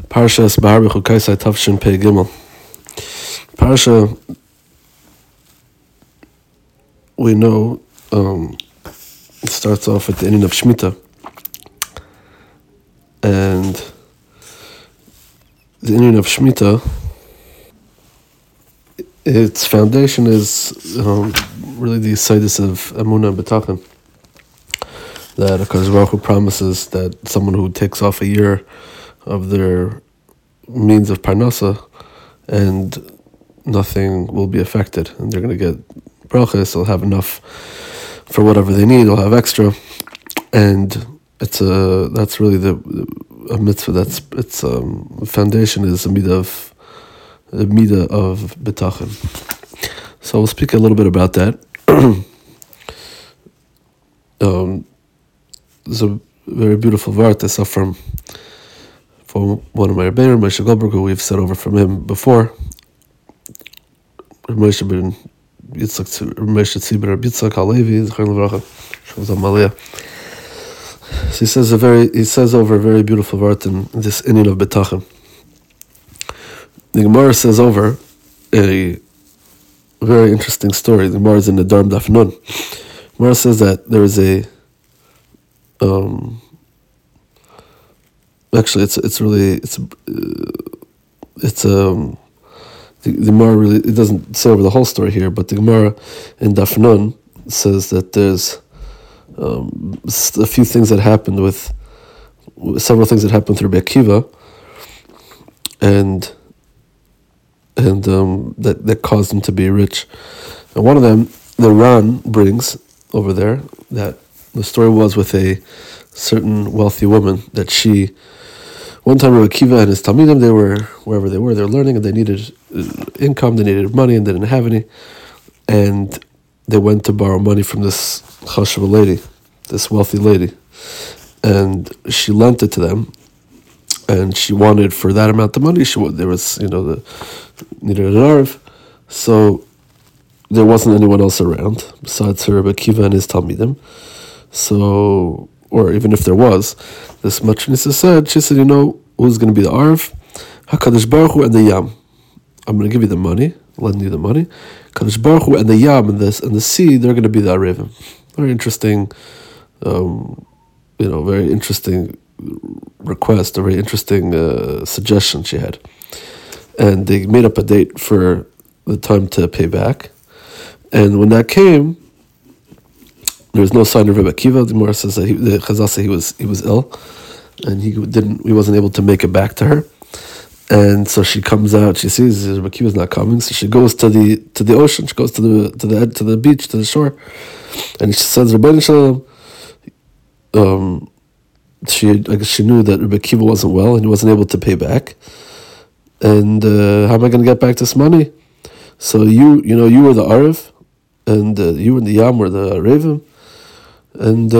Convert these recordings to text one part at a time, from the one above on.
Parshas Bahar B'Chukaisai Tavshin Pei Gimel. Parsha, we know, it starts off with the ending of Shemitah, and the ending of Shemitah, its foundation is really the Yesodus of Emunah and B'tachon, that HaKadosh Baruch Hu promises that someone who takes off a year of their means of parnasa and nothing will be affected, and they're going to get brachas, they'll have enough for whatever they need, they'll have extra, and that's really a mitzvah. That's its foundation is the midah of betachon. So we'll speak a little bit about that. There's a very beautiful vart I saw from one of my Rebbeinu, Moshe Goldberg, who we've said over from him before. Moshe ben Yitzchak, Moshe Tzvi ben Yitzchak Halevi, Zechron Levracha, Shalom Maliyah. So he says over a very beautiful vart in this inyan of betachon. The Gemara says over a very interesting story. The Gemara is in the Darm Daf Nun. The Gemara says that there is a actually the Gemara really, it doesn't say over the whole story here, but the Gemara in Daf Nun says that there's a few things that happened several things that happened with Rabbi Akiva, and that caused him to be rich. And one of them, the Ran brings over there, that the story was with a certain wealthy woman that one time Rabbi Akiva and his Talmidim, they were wherever they were learning, and they needed income, they needed money, and they didn't have any, and they went to borrow money from this chashuva lady, this wealthy lady, and she lent it to them, and she wanted for that amount of money. Needed an arv, so there wasn't anyone else around besides her, Rabbi Akiva and his Talmidim. So, or even if there was, this matronisa said, she said, who's going to be the arv? HaKadosh Baruch Hu and the Yam. I'm going to give you the money, lend you the money. Kadosh Baruch Hu and the Yam and the sea, they're going to be the arivim. Very interesting, very interesting request, a very interesting suggestion she had. And they made up a date for the time to pay back. And when that came, there was no sign of Rebbe Akiva. The Gemara says that the Chazal said he was ill, and he wasn't able to make it back to her. And so she comes out. She sees Rebbe Akiva's not coming, so she goes to the ocean. She goes to the beach, to the shore, and she says, Rebbeinu Shalom. I guess she knew that Rebbe Akiva wasn't well and he wasn't able to pay back. And how am I going to get back this money? So you were the Arif, and you and the Yam were the Arevim, and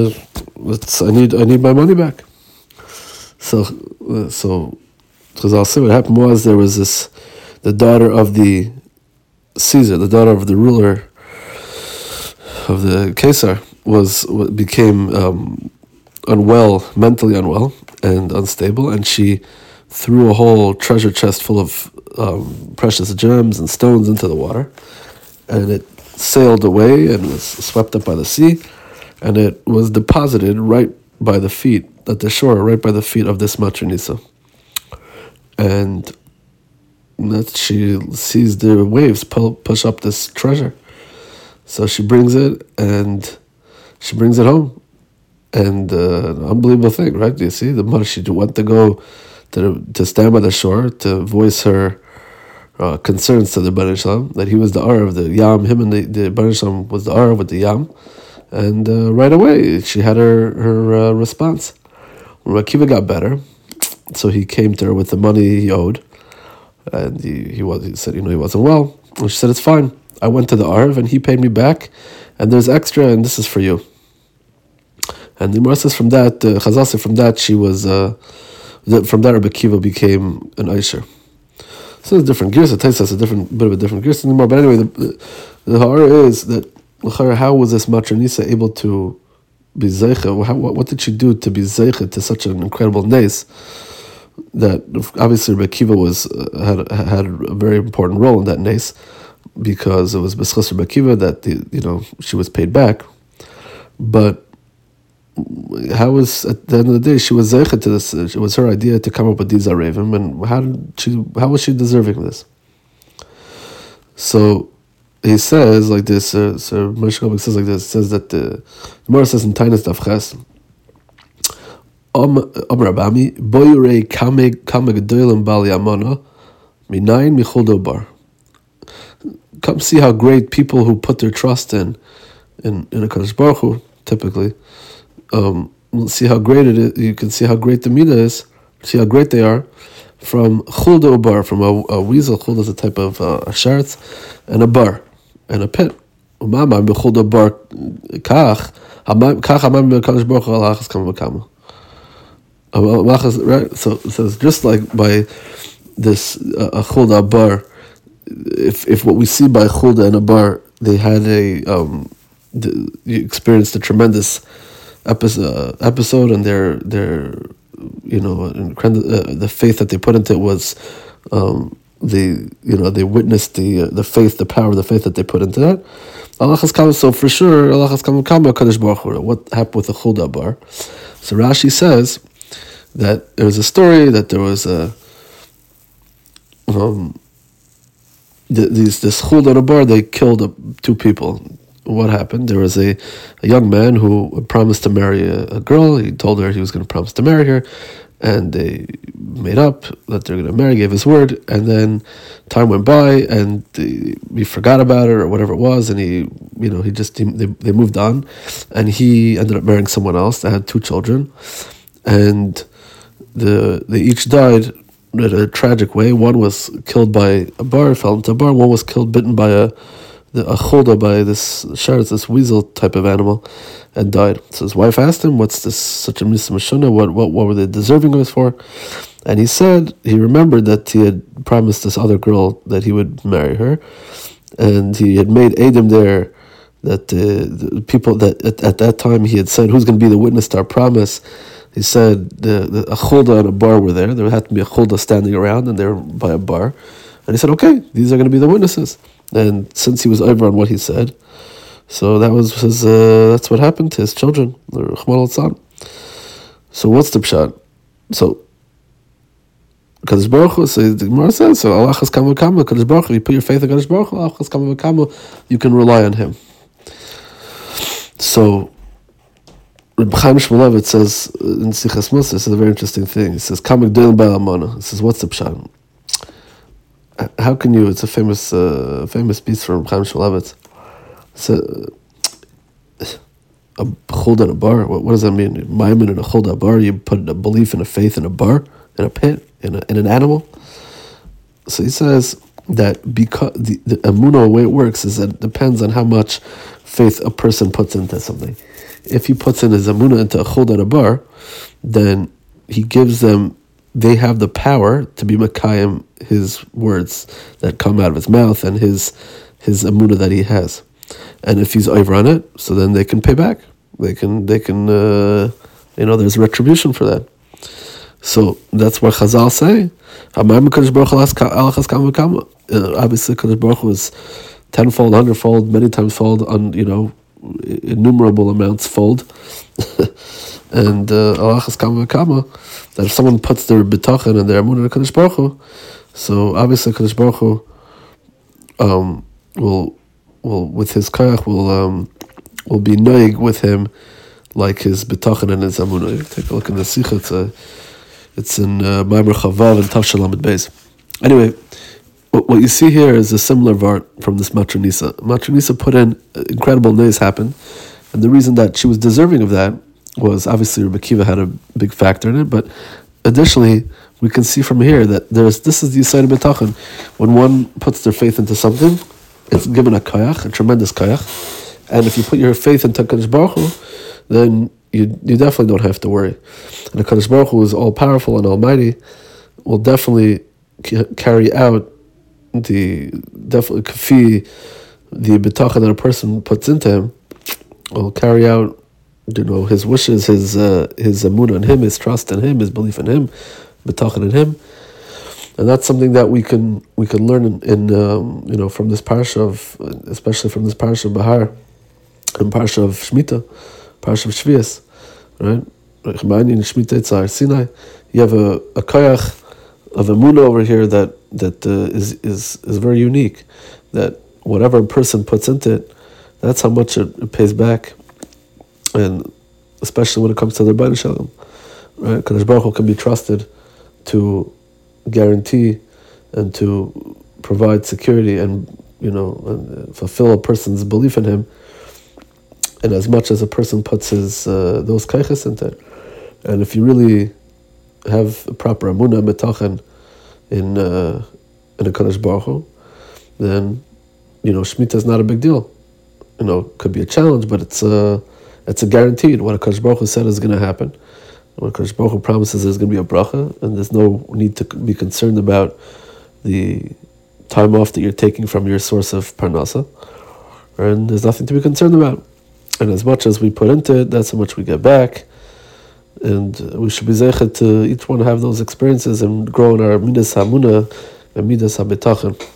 I need my money back. So Chazal say what happened was there was the daughter of the Caesar, the daughter of the ruler of the Caesar, became mentally unwell and unstable, and she threw a whole treasure chest full of precious gems and stones into the water, and it sailed away and was swept up by the sea, and it was deposited right by the feet, at the shore, right by the feet of this matronisa. And that she sees the waves push up this treasure. So she brings it, and she brings it home. And an unbelievable thing, right? Do you see? The mother, she went to go to stand by the shore to voice her concerns to the Rebbeinu Shalom, that he was the Ar of the Yam, him and the Rebbeinu Shalom was the Ar with the Yam. And right away, she had her response. When Akiva got better, so he came to her with the money he owed, and he said, he wasn't well. And she said, it's fine. I went to the Arv, and he paid me back, and there's extra, and this is for you. And the Gemara says from that, Chazal said from that, she was, from that Rabbi Akiva became an Aisher. So there's different gears. It takes us a bit of a different gears anymore. But anyway, the Ha'ara is that, how was this matronisa able to be zeicha? What did she do to be zeicha to such an incredible nes? that obviously Rebbe Akiva had a very important role in that nace, because it was B'schus Rebbe Akiva that she was paid back. But how was, at the end of the day, she was zeichet to this? It was her idea to come up with these arevim, and how was she deserving of this? So he says like this. So Moshe Rabbeinu says like this. It says that the Gemara says in Tainas Daf Ches, Rabami boyurei kame gedolim bali amana minayin michol dobar. Come see how great people who put their trust in a Kadosh Baruch Hu, typically. See how great it is. You can see how great the midah is. See how great they are. From chulda bar, from a weasel. Chulda is a type of a sheretz, and a bar, and a pit. Umama b'chulda bar kach hamam b'kadosh baruch hu alachas kama v'kama. Right. So it's just like by this a chulda bar. If what we see by chulda and a bar, they had you experienced a tremendous episode, and their the faith that they put into it was they witnessed the faith, the power of the faith that they put into that. Alachas kama, so for sure alachas kama Kadosh Baruch Hu. What happened with the chulda bar? So Rashi says that there was a story that there was this chulda bar, they killed 2 people. What happened? There was a young man who promised to marry a girl. He told her he was going to promise to marry her, and they made up that they're going to marry, gave his word, and then time went by, and he forgot about it or whatever it was, and they moved on, and he ended up marrying someone else that had 2 children, and they each died in a tragic way. One was killed by a bar, fell into a bar. One was bitten by a chulda, by this sheretz, this weasel type of animal, and died. So his wife asked him, "What's this? Such a misa mashuna? What were they deserving of this for?" And he said he remembered that he had promised this other girl that he would marry her, and he had made edim there that the people that at that time he had said, "Who's going to be the witness to our promise?" He said a chulda and a bar were there. There had to be a chulda standing around, and they were by a bar. And he said, "Okay, these are going to be the witnesses." And since he was over on what he said, so that was his. That's what happened to his children. So what's the pshat? So Kadosh Baruch Hu, so the Gemara says, so alachas kama v'kama, Kadosh Baruch Hu, you put your faith in Kadosh Baruch Hu, alachas kama v'kama, you can rely on him. So Reb Chaim Shmulevitz says in Sichas Musa, this is a very interesting thing. He says, Kama g'dolim b'al amana. He says, what's the pshat? How can you? It's a famous piece from Chaim Shmulevitz. So, a chulda in a bar. What does that mean? Maimin in a chulda bar. You put a belief and a faith in a bar, in a pit, in an animal. So he says that because the emunah, the way it works is that it depends on how much faith a person puts into something. If he puts in his emunah into a chulda in a bar, then he gives them. They have the power to be makayim his words that come out of his mouth and his emunah that he has. And if he's over on it, so then they can pay back. They can there's retribution for that. So that's what Chazal say. Obviously, Kadosh Baruch Hu is tenfold, hundredfold, many times fold, innumerable amounts fold. And alachas kama v'kama, that if someone puts their bitachon and their emunah in Kadosh Baruch Hu, so obviously Kadosh Baruch Hu will with his koyach will be noig with him like his bitachon and his emunah. Take a look in the Sikha. It's in Maimer Chavav and Tav Shalom Beis. Anyway, what you see here is a similar vart from this Matra Nisa. Matra Nisa put in incredible news happened, and the reason that she was deserving of that was obviously Rebbe Akiva had a big factor in it, but additionally we can see from here that this is the Yisayim B'tachon. When one puts their faith into something, it's given a koyach, a tremendous koyach, and if you put your faith into Kadosh Baruch Hu, then you definitely don't have to worry. And the Kadosh Baruch Hu is all powerful and almighty, will definitely carry out the bitachon that a person puts into him, will carry out his wishes, his emunah in him, his trust in him, his belief in him, betachin in Him, and that's something that we can learn in from this parsha especially from this parsha of Bahar and parsha of Shemitah, parsha of Shvius, right? Sinai, you have a koyach of emunah over here that is very unique. That whatever a person puts into it, that's how much it pays back, and especially when it comes to the Rebbeinu Shalom, right? Kadosh Baruch Hu can be trusted to guarantee and to provide security and and fulfill a person's belief in Him, and as much as a person puts his those kaiches into it. And if you really have a proper emunah betachin in a Kadosh Baruch Hu, then Shemitah is not a big deal. Could be a challenge, but it's a guaranteed. What a Kadosh Baruch Hu said is going to happen. What Kadosh Baruch Hu promises there's going to be a bracha, and there's no need to be concerned about the time off that you're taking from your source of parnasa, and there's nothing to be concerned about. And as much as we put into it, that's how much we get back. And we should be zeichet to each one have those experiences and grow in our midas hamunah and midas habetachin.